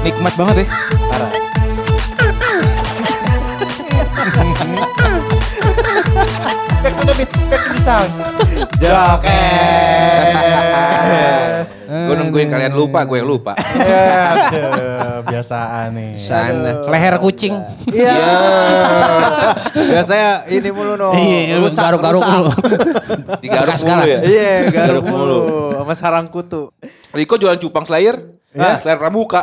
Nikmat banget ya. Parah. Back to the sound. Jokes. Gue nungguin kalian lupa, gue yang lupa. Ya, aduh, biasaan nih. Sana. Leher kucing. Iya. Biasanya ini mulu no. Iya, garuk-garuk mulu. Digaruk Bekas mulu ya. Iya, garuk Garuk mulu. mulu sama sarang kutu. Riko jualan cupang Slayer. Slayer pramuka.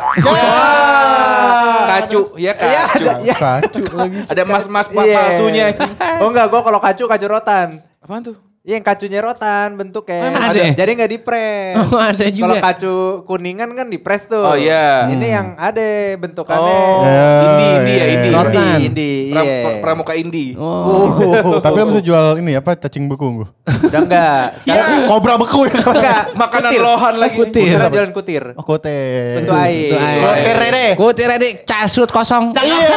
Kacu, ya kacu. Kacu lagi. Ada emas-emas Iya. palsunya. Oh enggak, gua kalau kacu rotan. Apaan tuh? Iya, yang kacunya rotan bentuknya. Emang ada? Jadi nggak dipres. Oh, ada juga. Kalau kacu kuningan kan dipres tuh. Oh iya. Ini yang ada bentukannya. Oh, indie ya, indie. Rotan. Indie, iya. Pramuka indie. Oh. Tapi lo bisa jual ini apa cacing beku? Udah enggak. Sekarang Kobra beku ya. enggak. Makanan Kutir. lohan lagi. Kutir. Sekarang jalan kutir. Oh kote. Bentuk air. Kutir deh. Kutir deh, casut kosong.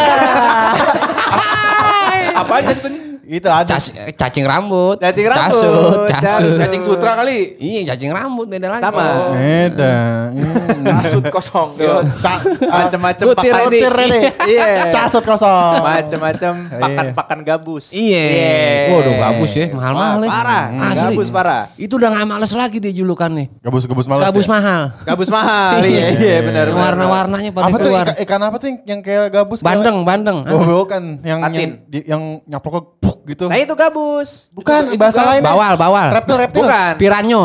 Apaan casutnya? Itu ada. Cacing rambut. Cacing Casut, rambut. casut. Cacing sutra kali. Iya, cacing rambut beda lagi. Sama. Beda. Kasut kosong. Macem-macem Kutir pakan. deh. Iya. Casut kosong. Macem-macem pakan-pakan gabus. Iya. Waduh, gabus ya, mahal-mahal ya. Parah. Asli. Gabus parah. Itu udah gak males lagi dia julukannya. Gabus malas. Gabus ya? mahal. Gabus mahal. Iya, benar. Yang warna-warnanya pada Apa tuh keluar. ikan apa tuh yang kayak gabus? Bandeng. Oh bukan, yang Patin. yang nyaploknya puk gitu. Nah itu gabus. Bukan, itu bahasa lain. Bawal. Reptil. Bukan. Piranyo.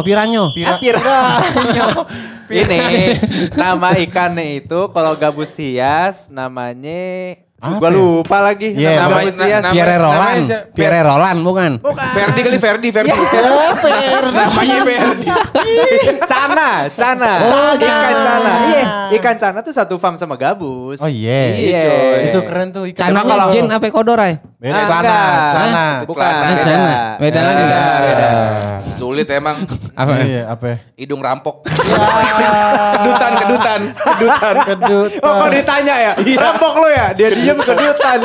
Ini nama ikannya itu kalau gabus hias namanya Apa gua ya? lupa lagi. Iya, Nama namanya- gabus hias. nama- Pierre Roland. namanya siapa? Pierre Roland bukan? Bukan. Ferdi kali Ferdi. Namanya Ferdi. Cana. Oh, Ikan cana. cana. Iya, ikan cana tuh satu farm sama gabus. Oh iya. Iya. Itu keren tuh ikan. Cananya kalau- Jen apa Kodorai? Beda Ah, celana, enggak. celana. Bukan. Celana. Beda. Beda lagi. Beda. Sulit emang. Apa? Iya, apa? ya? Hidung rampok. Kedutan. Kedut. Oh kok ditanya ya? Rampok lo ya? Dia diem kedutan.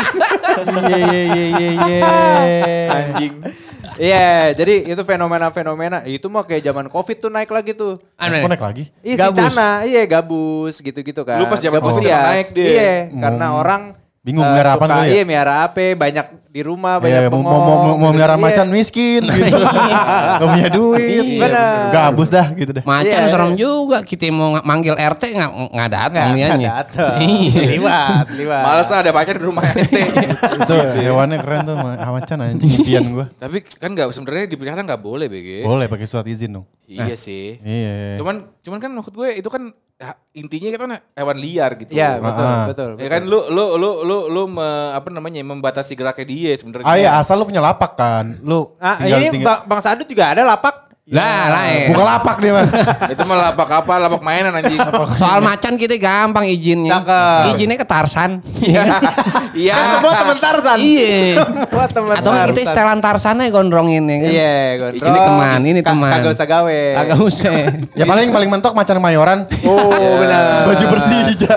Iya. Anjing. Iya, jadi itu fenomena-fenomena. Itu mah kayak zaman Covid tuh naik lagi tuh. Aneh. Kok naik lagi? Iya si Gabus. Cana, iya gabus gitu-gitu kan. Lu pas zaman Gabus Covid hias. naik dia. Iya, karena orang Bingung melihara apaan suka, dulu ya? Iya, melihara apa, banyak di rumah, Iya, banyak mau bengong. melihara gitu. macan Iya. miskin gitu. Gak punya duit. Iya, bener. Gabus dah gitu dah. Macan Iya. serem juga. Kita mau manggil RT nggak datang Nggak nianya. dateng. Iya. Liwat. Males ada pacar di rumah ente. Itu hewannya keren tuh macan anjing impian gua. Tapi kan nggak sebenarnya dipelihara nggak boleh BG. Boleh pakai surat izin dong. Iya sih. Iya. Cuman kan maksud gue itu kan intinya kan hewan liar gitu. Iya, betul, Ah. betul. Ya kan lu apa namanya membatasi geraknya dia sebenarnya. Ah iya, asal lu punya lapak kan. Lu Ah, tinggal ini Bang Sadut juga ada lapak. Lah, lain. buka lapak dia mah. Itu mah lapak apa? Lapak mainan anjing. Soal macan kita gampang izinnya. Cakep. Izinnya ke Tarsan. Iya. Kan semua temen Tarzan. Iya. Semua temen Atau nggak kita Tarzan. setelan Tarsannya gondrongin ya kan. Iya, gondrong. Ini teman, ini teman. Kagak usah gawe. Agak usah. Ya paling mentok macan mayoran. Oh, benar. Baju Persija.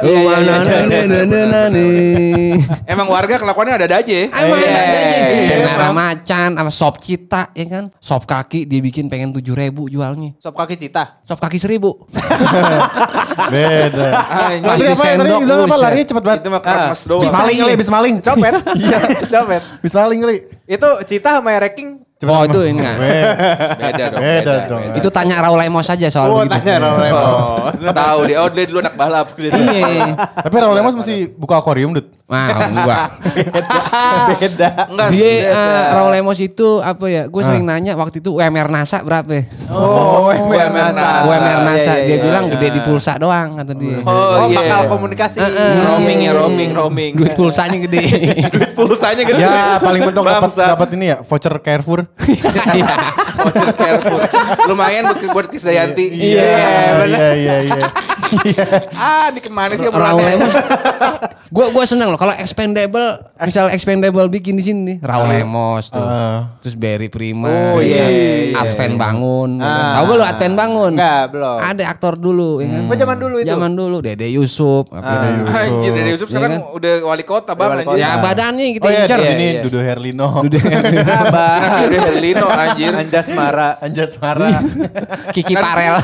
Emang warga kelakuannya ada aja. Emang Iya. ada aja. Iya, Nara emang. macan, sama sop cita ya kan. Sop kaki dia bikin pengen 7.000 jualnya. Sop kaki cita. Sop kaki 1.000. Beda. Anjing. Tadi apa yang tadi sendok, bilang apa buset. larinya cepet banget. Itu mah keramas Bis doang. maling kali, bis maling. Copet. Iya, copet. Bis maling kali. Itu cita sama ranking. Oh itu enggak. Beda dong. Beda dong. Itu tanya Raul Lemos aja soal Oh, begitu. tanya Raul Lemos. Tahu dia. Oh dia dulu anak balap. Iya. Tapi Raul Lemos mesti buka akuarium, Dut. Wah, enggak. Beda. Enggak Dia sih. Raul Lemos itu apa ya? Gue sering nanya waktu itu UMR NASA berapa ya? Oh, UMR NASA. UMR NASA. Iya, Dia iya, bilang iya. gede di pulsa doang kata dia. Oh iya. bakal komunikasi. Roaming ya roaming. Duit pulsanya gede. Duit pulsanya gede. Ya paling mentok Bangsa. dapat ini ya voucher Carrefour. Voucher Carrefour. Lumayan buat Krisdayanti. Iya. Ah, ini kemana sih Raul obrolannya? Lemos. Gue seneng loh kalau expendable, misal expendable bikin di sini nih, Raul Lemos tuh. Terus Barry Prima, Oh, ya iya, kan? iya, Advent iya. Bangun. Ah. Tahu gak lu Advent Bangun? Enggak, belum. Ada aktor dulu, ya kan? Oh, zaman dulu itu. Zaman dulu, Dede Yusuf. Anjir, Dede Yusuf Iya sekarang kan? udah wali kota bang. Wali Anjir. Ya badannya kita Oh iya, incer. ini iya. Dudo Herlino. Kenapa Dudo Herlino anjir? Anja Anjasmara. Kiki Parel.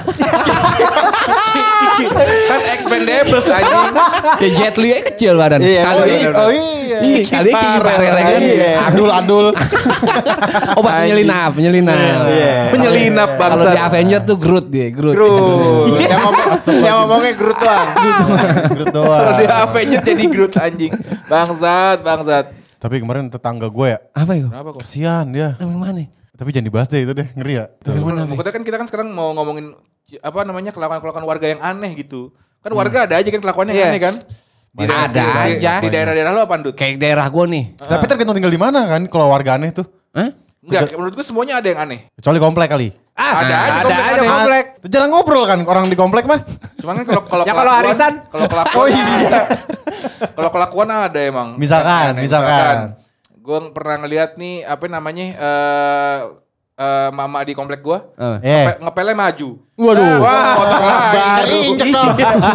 Kan Expendables anjing. Ya Jet Li aja kecil badan. Iya, Kali bener. Oh iya. kali Kiki Parel kan. Adul. Obat penyelinap. Menyelinap Kalau bangsa. di Avenger tuh Groot dia, Groot. Groot. Yang ngomongnya Groot doang. Kalau dia Avenger jadi Groot anjing. Bangsat. Tapi kemarin tetangga gue ya, Apa itu? Kenapa kok? kasihan dia. Yang mana? Tapi jangan dibahas deh itu deh, ngeri ya. Maksudnya kan kita kan sekarang mau ngomongin apa namanya kelakuan warga yang aneh gitu. Kan warga ada aja kan kelakuannya yang Iya. aneh kan. Ada aja. Di daerah-daerah lo apa Dut? Kayak daerah gua nih. Tapi tergantung tinggal di mana kan, kalau warga aneh tuh. Hah? Enggak, menurut gue semuanya ada yang aneh. Kecuali komplek kali. Ada aja Ada aja aneh. komplek. Jarang ngobrol kan orang di komplek mah. Cuman kan kalau Ya kalau kelakuan- arisan. kalau kelakuan kalau kelakuan ada emang. Misalkan. Gue pernah ngeliat nih apa namanya mama di komplek gue ngepelnya maju. Waduh. Wah, otak Baru injek dong.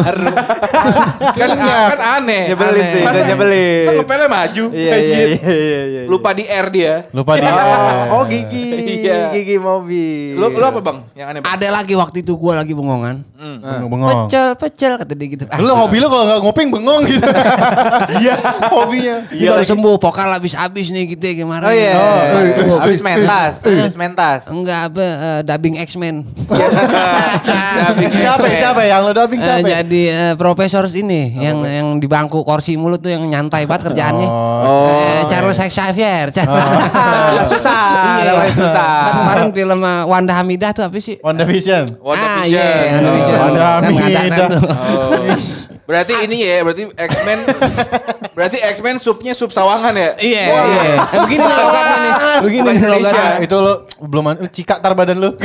kan aneh. Nyebelin sih, Masa- itu nyebelin. masa ngepelnya maju. Iya. Lupa di R dia. Lupa dia. Oh gigi, Iya. gigi mobil. Lu apa bang? Yang aneh bang? Ada lagi waktu itu gua lagi bengongan. Bengong. Pecel kata dia gitu. Lu hobi lu kalau nggak ngoping bengong gitu. Iya, hobinya. Ini baru sembuh, vokal habis-habis nih gitu ya kemarin. Oh iya. itu. Habis mentas. Enggak apa, dubbing X-Men. Siapa yang lu dubbing siapa? Jadi profesor ini yang di bangku kursi mulut tuh yang nyantai banget kerjaannya. Charles Xavier. Susah, namanya susah. Kan kemarin film Wanda Hamidah tuh apa sih? WandaVision. WandaVision. Iya, WandaVision. Wanda Kan nggak ada Hamidah. tuh. Berarti ini ya, berarti X-Men supnya sup sawangan ya? Iya. Begini nih logatnya nih. Begini nih Indonesia. logatnya. Itu lu belum cika tar badan lu.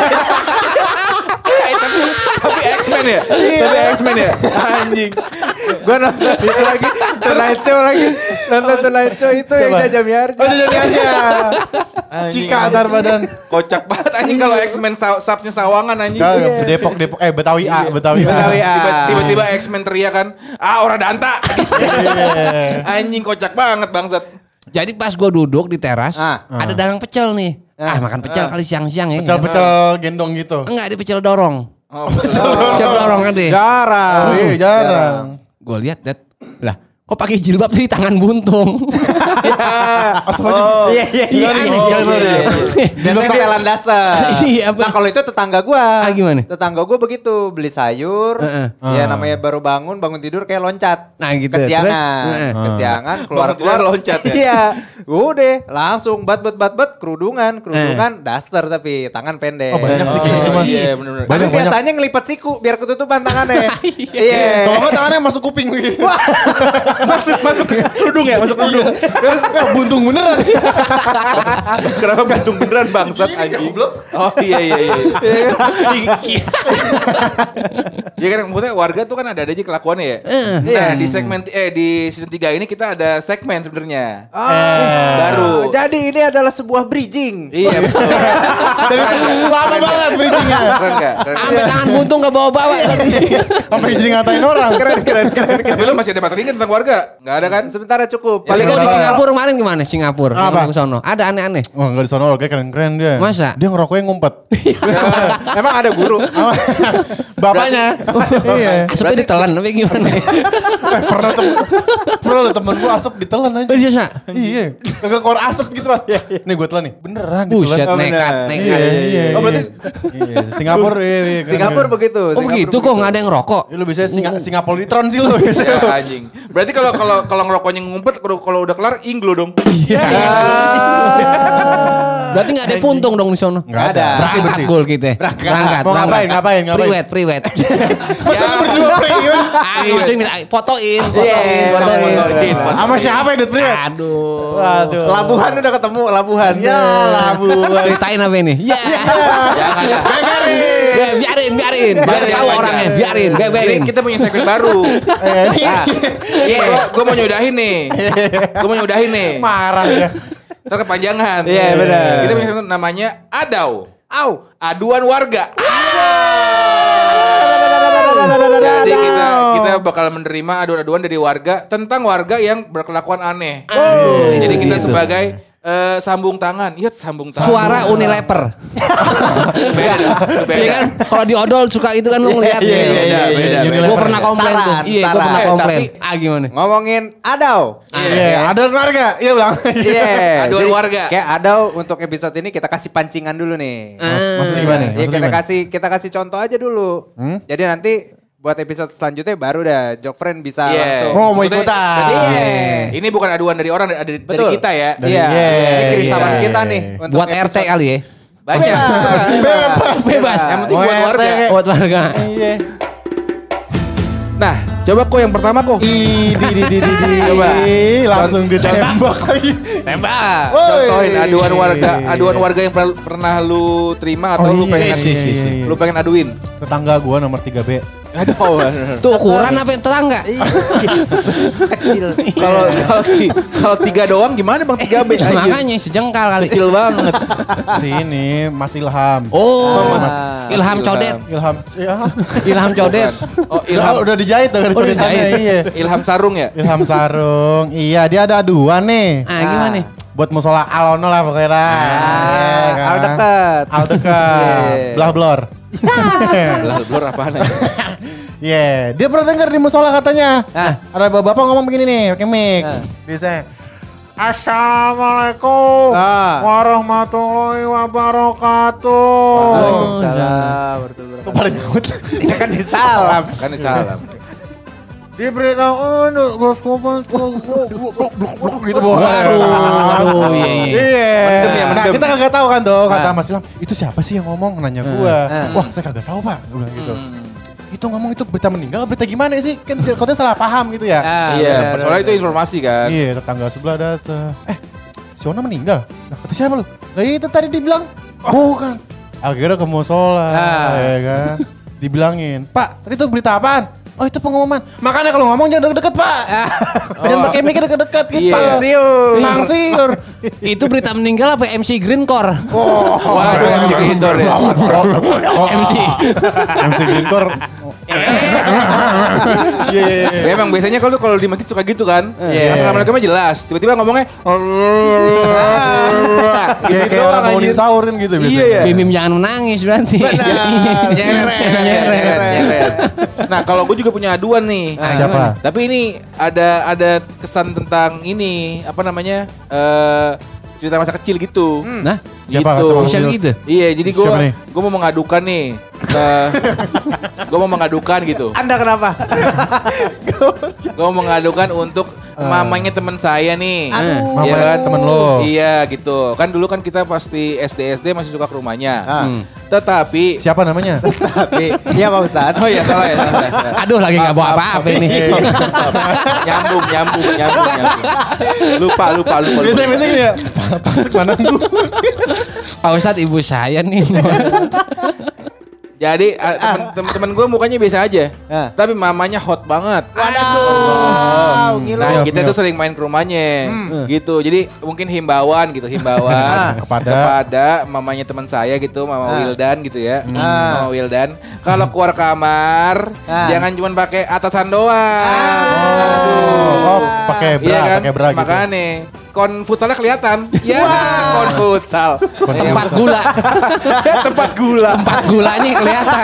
Tapi X-Men ya? Tapi X-Men ya? Anjing. Gue nonton itu lagi, Tonight Show lagi. Nonton Tonight Show itu yang Siapa? Jaja Miharja. Oh, jadi aja. Cika tar badan. Kocak banget anjing kalau X-Men subnya sawangan anjing. Kagak, Depok Betawi A. Betawi A. Tiba-tiba X-Men teriak kan, ora danta. Anjing kocak banget bangsat. Jadi pas gue duduk di teras, ada dagang pecel nih. Makan pecel kali siang-siang ya. Pecel-pecel gendong gitu. Enggak, ada pecel dorong. Oh, Pecel dorong kan deh. Jarang. Iya, jarang. Gue lihat, lah kok pakai jilbab di tangan buntung. Iya. Biasanya setelan daster. Iya, Nah kalau itu tetangga gua. Gimana? Tetangga gua begitu, beli sayur. Ya namanya baru bangun tidur kayak loncat. Nah gitu. Kesiangan. Terus, Kesiangan Bangun tidur loncat ya? Iya. Udah langsung bat kerudungan daster tapi tangan pendek. Oh banyak sih kayak gitu mah. Iya bener-bener. Tapi Banyak. biasanya ngelipet siku biar ketutupan tangannya. Iya. Kalau nggak tangannya masuk kuping begitu. Masuk ke kerudung ya, masuk ke kerudung. Buntung beneran. Kenapa buntung beneran bangsat anjing? Oh iya. Ya kan maksudnya warga tuh kan ada aja kelakuannya ya. Nah, di segmen di season 3 ini kita ada segmen sebenarnya. Baru. Jadi ini adalah sebuah bridging. Iya betul. Lama banget bridgingnya. Keren enggak? Sampai tangan buntung gak bawa-bawa. Sampai jadi ngatain orang. Keren. Tapi lu masih ada materi kan tentang warga? Enggak ada kan? Sebentar cukup. Paling Kalau di Apa? Singapura kemarin gimana? Singapura. Apa? Yang ke sono. Ada aneh-aneh. Wah enggak di sono orangnya keren-keren dia. Masa? Dia ngerokoknya ngumpet. Emang ada guru. Bapaknya. Iya. Asapnya ditelan tapi gimana? Pernah lo temen gua asap ditelan aja. Oh biasa. Iya. Kagak keluar asap gitu Mas. Nih gua telan nih. Beneran Buset, ditelan. nekat. Iya. Oh, berarti- Iya, Singapura iya. Singapura begitu. Oh begitu kok nggak ada yang rokok. Ya, lu bisa Singapolitron sih lu. Ya, anjing. Berarti kalau ngerokoknya ngumpet kalau udah kelar inglo dong. Berarti nggak ada puntung dong di sono. Enggak ada. Berangkat gol kita. Berangkat. Mau ngapain? Priwet. Ya, Berdua priwet. Ayo sih minta fotoin. fotoin. Sama siapa ya Dut Priwet? Aduh. Waduh. Labuhan udah ketemu, Labuhan. Ya, labuhan. Ceritain apa ini? Ya. Jangan ya. Ya, biarin. Biar tahu orangnya. Biarin. Ini kita punya segmen baru. Gue mau nyudahin nih. Marah ya. Ntar kepanjangan. Iya, benar. Kita punya segmen namanya Adau. Aduan warga. Jadi kita bakal menerima aduan-aduan dari warga tentang warga yang berkelakuan aneh. Jadi kita sebagai Sambung tangan. Iya, sambung tangan. Suara Unilever. Beda. Iya kan? Kalau di odol suka itu kan lu ngeliat. Beda. Gue pernah komplain tuh. Iya, gue pernah komplain. Gimana? Ngomongin Adau. Iya, ada warga. Iya bilang. Iya. Aduan Jadi warga. Kayak Adau untuk episode ini kita kasih pancingan dulu nih. Maksudnya gimana? Iya, kita kasih contoh aja dulu. Jadi nanti buat episode selanjutnya baru dah Jokfriend bisa langsung. Oh, mau ikutan. Iya. Ini bukan aduan dari orang, dari kita ya. Iya. Ini kirisaman kita nih. Untuk Buat RT episode- kali ya. Banyak. Bebas. Yang penting buat warga. Buat warga. Iya. Nah, coba kok yang pertama kok. Coba. Langsung ditembak lagi. Tembak. Contohin aduan warga yang pernah lu terima atau lu pengen iya. lu pengen aduin. Tetangga gua nomor 3B. Aduh. Tuh ukuran apa yang tetangga? Kalau 3 doang gimana Bang 3B aja? Makanya sejengkal kali. Kecil banget. Si ini Mas Ilham. Oh, Mas Ilham Codet. Ilham. Ya. Ilham Codet. Oh, Ilham udah dijahit dari codetannya. Iya. Ilham Sarung ya? Ilham Sarung. Iya, dia ada aduan nih. Gimana nih? Buat musola Alono lah pokoknya lah. Iya kan? Al dekat. Al dekat. Belah blor. Blur apaan ya? Iya, dia pernah denger di musola katanya. Ada bapak ngomong begini nih, pakai mic. Biasanya. Assalamualaikum warahmatullahi wabarakatuh. Waalaikumsalam. Kok pada nyambut? Ini kan disalam. Kan disalam. Diberitahu untuk Gus Kupon gitu Waduh, iya. Iya. Nah, kita kagak tahu kan tuh kata Mas Ilham, itu siapa sih yang ngomong nanya gua. Wah, saya kagak tahu, Pak. Gua bilang gitu. Itu ngomong itu berita meninggal, berita gimana sih? Kan katanya salah paham gitu ya. Iya, soalnya itu informasi kan. Iya, tetangga sebelah datang. Si Ona meninggal. Nah, kata siapa lu? Lah itu tadi dibilang. Bukan. Akhirnya ke musola, ya kan. Dibilangin, "Pak, tadi itu berita apaan?" Oh, itu pengumuman. Makanya kalau ngomong jangan deket-deket, Pak. Jangan pakai mikir deket-deket gitu. Mangsiur. Itu berita meninggal apa MC Greencore? Waduh, gitu deh. MC. MC Greencore. Ya, emang biasanya kalau di masjid suka gitu kan. Iya. Assalamualaikum jelas. Tiba-tiba ngomongnya Kayak orang bangunin sahur kan gitu biasanya. Iya. Bim jangan menangis berarti. Nyeret. Nah, kalau gue juga punya aduan nih. Siapa? Tapi ini ada kesan tentang ini apa namanya? Cerita masa kecil gitu. Nah, Siapa? Gitu. Coba bisa gitu. Iya, jadi Siapa nih? gue mau mengadukan nih. Gue mau mengadukan gitu. Anda kenapa? Gue mau mengadukan untuk mamanya teman saya nih. Mama Iya kan? temen lo. Iya gitu. Kan dulu kan kita pasti SD masih suka ke rumahnya. Tetapi Siapa namanya? Tapi iya Pak Ustadz. oh iya salah ya. Aduh, lagi nggak bawa apa-apa ini. nyambung. Lupa. Biasanya ya. Mana dulu? Pak Ustadz, ibu saya nih. Jadi teman-teman gue mukanya biasa aja, tapi mamanya hot banget. Waduh. Nah kita tuh sering main ke rumahnya, gitu. Jadi mungkin himbauan kepada mamanya teman saya gitu, Mama Wildan gitu ya, Mama Wildan. Kalau keluar kamar jangan cuma pakai atasan doang. Oh, pakai bra, pakai bra gitu. Makanya kon futsalnya kelihatan. Ya, kon futsal. Tempat gula. Tempat gula. Tempat gulanya kelihatan.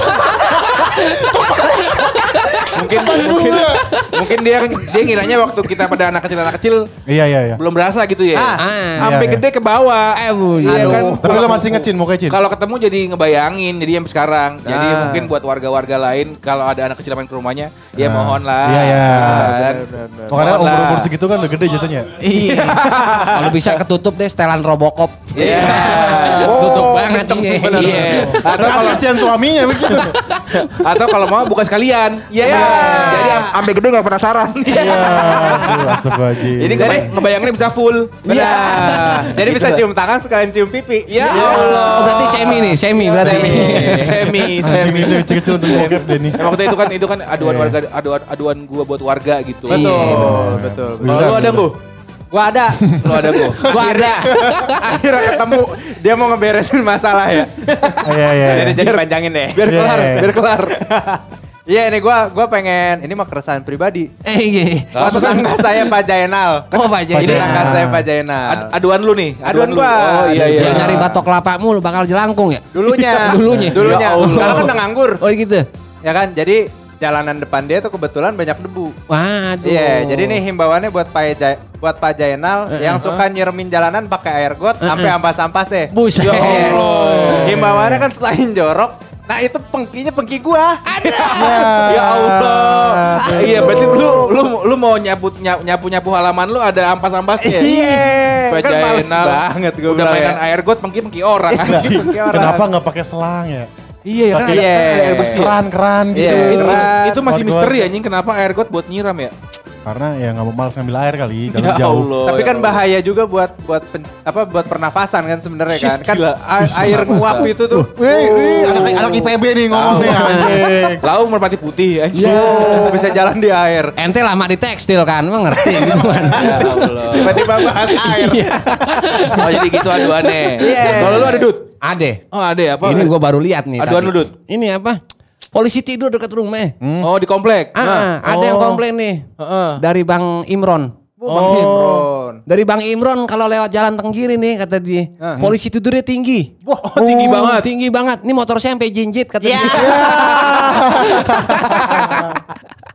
Mungkin dia ngiranya waktu kita pada anak kecil Iya. belum berasa gitu ya. Sampai Iya. gede ke bawah. Iya kan. Tapi lo masih ngecin, mau kecin? Kalau ketemu jadi ngebayangin, jadi yang sekarang. Jadi mungkin buat warga-warga lain kalau ada anak kecil main ke rumahnya, ya mohon lah. Iya. Kan? Makanya Mohon lah. umur segitu kan udah gede jatuhnya. Iya. Kalau bisa ketutup deh setelan Robocop. Iya. Tutup banget Iya. Atau kalau kasihan suaminya begitu. Atau kalau mau buka sekalian. Iya. Jadi sampai gede nggak penasaran. Iya. Astagfirullahaladzim. Jadi ngebayanginnya bisa full. Iya. Jadi bisa cium tangan sekalian cium pipi. Ya Allah. Oh, berarti semi berarti. Semi. Anjing ini kecil-kecil untuk bokep deh nih. Emang itu kan aduan warga, aduan gua buat warga gitu. Betul. Kalau lu ada gua? Gua ada. Lu ada gua? Gua ada. Akhirnya ketemu dia mau ngeberesin masalah ya. Iya. Jadi panjangin deh. Biar kelar. Iya ini gue pengen, ini mah keresahan pribadi. Iya. Tetangga saya Pak Jainal. Oh Pak Jainal. Ini tetangga saya Pak Jainal. Aduan lu nih. Aduan gua. Oh iya. Dia nyari batok kelapa mulu bakal jelangkung ya? Dulunya. Ya Allah. Sekarang kan udah nganggur. Oh gitu? Ya kan, jadi jalanan depan dia tuh kebetulan banyak debu. Waduh. Iya, jadi nih himbauannya buat Pak Jainal yang suka nyiremin jalanan pakai air got sampai ampas-ampasnya. Buset. Ya Allah. Himbauannya kan selain jorok, nah itu pengki gua. Ya Allah. Iya, berarti lu mau nyapu halaman lu ada ampas-ampasnya. Iya. Kan males Jainal banget gua udah bilang mainan ya. air got pengki orang anjing. Kenapa nggak pakai selang ya? Iya kan Iya. ada air bersih. Keran gitu. Iya. Itu masih Got-got. misteri anjing kenapa air got buat nyiram ya? Karena ya nggak mau males ngambil air kali, Ya jalan jauh. Allah. Tapi ya kan Allah. bahaya juga buat pernafasan kan sebenarnya kan. Sis, Kan gila. air nguap itu tuh. Anak IPB nih ngomong nih anjing. Lau merpati putih anjing. Bisa jalan di air. Ente lama di tekstil kan, emang ngerti gitu kan. Ya Allah. Tiba-tiba bahas air. Oh jadi gitu aduannya. Iya. Kalau lu ada Dut? Ade. Oh ada ya apa? Ini gua baru lihat nih. Aduan tadi. lu, Dut? Ini apa? Polisi tidur dekat rumah. Oh di komplek. Ada yang komplain nih. Heeh. Dari Bang Imron. Bang Imron. Dari Bang Imron kalau lewat jalan tenggiri nih kata dia. Polisi tidurnya tinggi. Wah, tinggi banget. Tinggi banget. Ini motor saya sampai jinjit kata dia.